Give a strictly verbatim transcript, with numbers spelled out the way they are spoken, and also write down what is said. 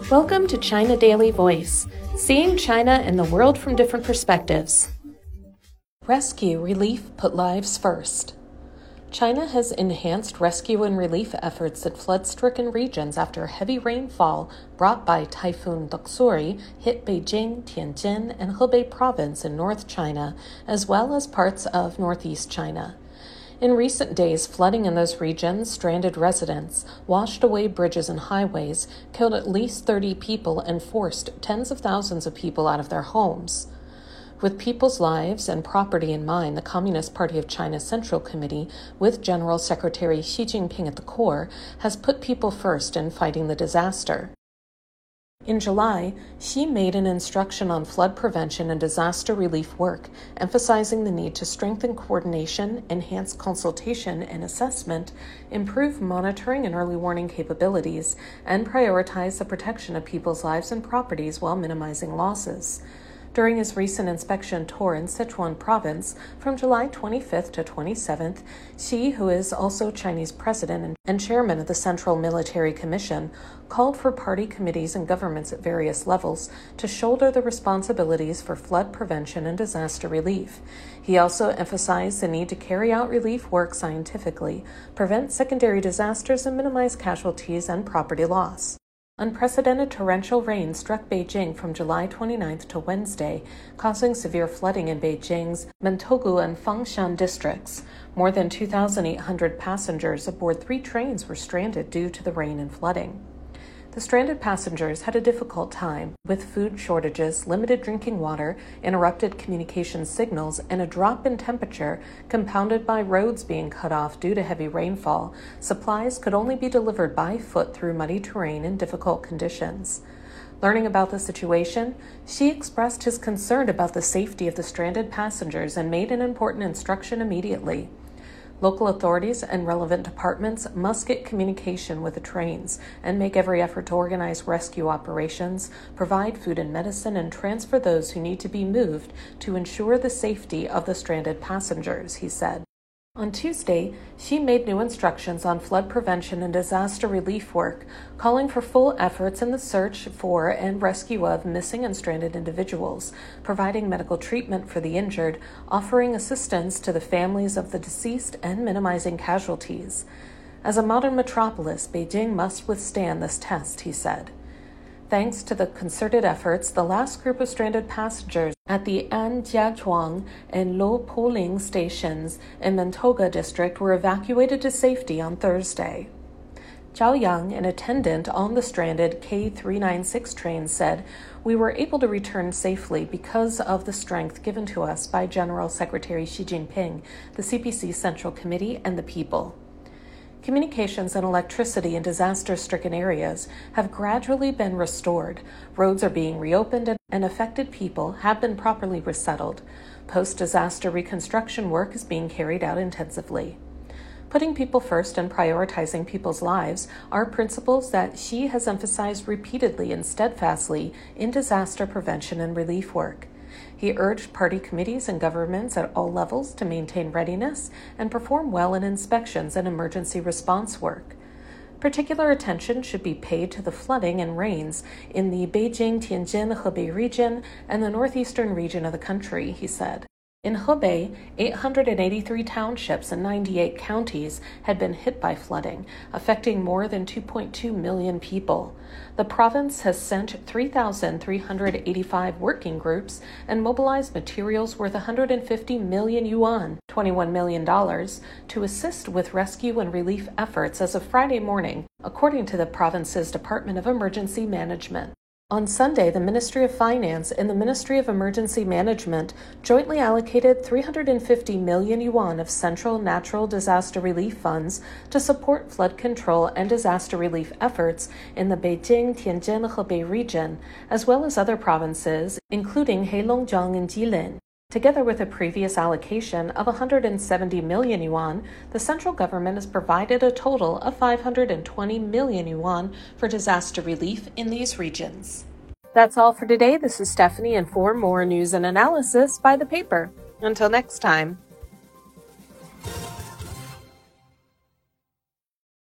Welcome to China Daily Voice, seeing China and the world from different perspectives. Rescue relief put lives first. China has enhanced rescue and relief efforts in flood-stricken regions after heavy rainfall brought by Typhoon Doksuri hit Beijing, Tianjin, and Hebei province in North China, as well as parts of northeast China. In recent days, flooding in those regions stranded residents, washed away bridges and highways, killed at least thirty people, and forced tens of thousands of people out of their homes. With people's lives and property in mind, the Communist Party of China's Central Committee, with General Secretary Xi Jinping at the core, has put people first in fighting the disaster. In July, Xi made an instruction on flood prevention and disaster relief work, emphasizing the need to strengthen coordination, enhance consultation and assessment, improve monitoring and early warning capabilities, and prioritize the protection of people's lives and properties while minimizing losses. During his recent inspection tour in Sichuan province from July twenty-fifth to twenty-seventh, Xi, who is also Chinese president and chairman of the Central Military Commission, called for party committees and governments at various levels to shoulder the responsibilities for flood prevention and disaster relief. He also emphasized the need to carry out relief work scientifically, prevent secondary disasters, and minimize casualties and property loss. Unprecedented torrential rain struck Beijing from July twenty-ninth to Wednesday, causing severe flooding in Beijing's Mentogu and Fangshan districts. More than two thousand eight hundred passengers aboard three trains were stranded due to the rain and flooding. The stranded passengers had a difficult time, with food shortages, limited drinking water, interrupted communication signals, and a drop in temperature compounded by roads being cut off due to heavy rainfall. Supplies could only be delivered by foot through muddy terrain in difficult conditions. Learning about the situation, Xi expressed his concern about the safety of the stranded passengers and made an important instruction immediately. Local authorities and relevant departments must get communication with the trains and make every effort to organize rescue operations, provide food and medicine, and transfer those who need to be moved to ensure the safety of the stranded passengers, he said. On Tuesday, Xi made new instructions on flood prevention and disaster relief work, calling for full efforts in the search for and rescue of missing and stranded individuals, providing medical treatment for the injured, offering assistance to the families of the deceased, and minimizing casualties. As a modern metropolis, Beijing must withstand this test, he said. Thanks to the concerted efforts, the last group of stranded passengers at the Anjiachuang and Luopuling stations in Mentoga district were evacuated to safety on Thursday. Zhao Yang, an attendant on the stranded K three ninety-six train, said, "We were able to return safely because of the strength given to us by General Secretary Xi Jinping, the C P C Central Committee, and the people." Communications and electricity in disaster-stricken areas have gradually been restored. Roads are being reopened and affected people have been properly resettled. Post-disaster reconstruction work is being carried out intensively. Putting people first and prioritizing people's lives are principles that Xi has emphasized repeatedly and steadfastly in disaster prevention and relief work. He urged party committees and governments at all levels to maintain readiness and perform well in inspections and emergency response work. Particular attention should be paid to the flooding and rains in the Beijing-Tianjin-Hebei region and the northeastern region of the country, he said. In Hebei, eight hundred eighty-three townships and ninety-eight counties had been hit by flooding, affecting more than two point two million people. The province has sent three thousand three hundred eighty-five working groups and mobilized materials worth one hundred fifty million yuan, twenty-one million dollars, to assist with rescue and relief efforts as of Friday morning, according to the province's Department of Emergency Management. On Sunday, the Ministry of Finance and the Ministry of Emergency Management jointly allocated three hundred fifty million yuan of central natural disaster relief funds to support flood control and disaster relief efforts in the Beijing-Tianjin-Hebei region, as well as other provinces, including Heilongjiang and Jilin. Together with a previous allocation of one hundred seventy million yuan, the central government has provided a total of five hundred twenty million yuan for disaster relief in these regions. That's all for today. This is Stephanie, and for more news and analysis, by the paper. Until next time.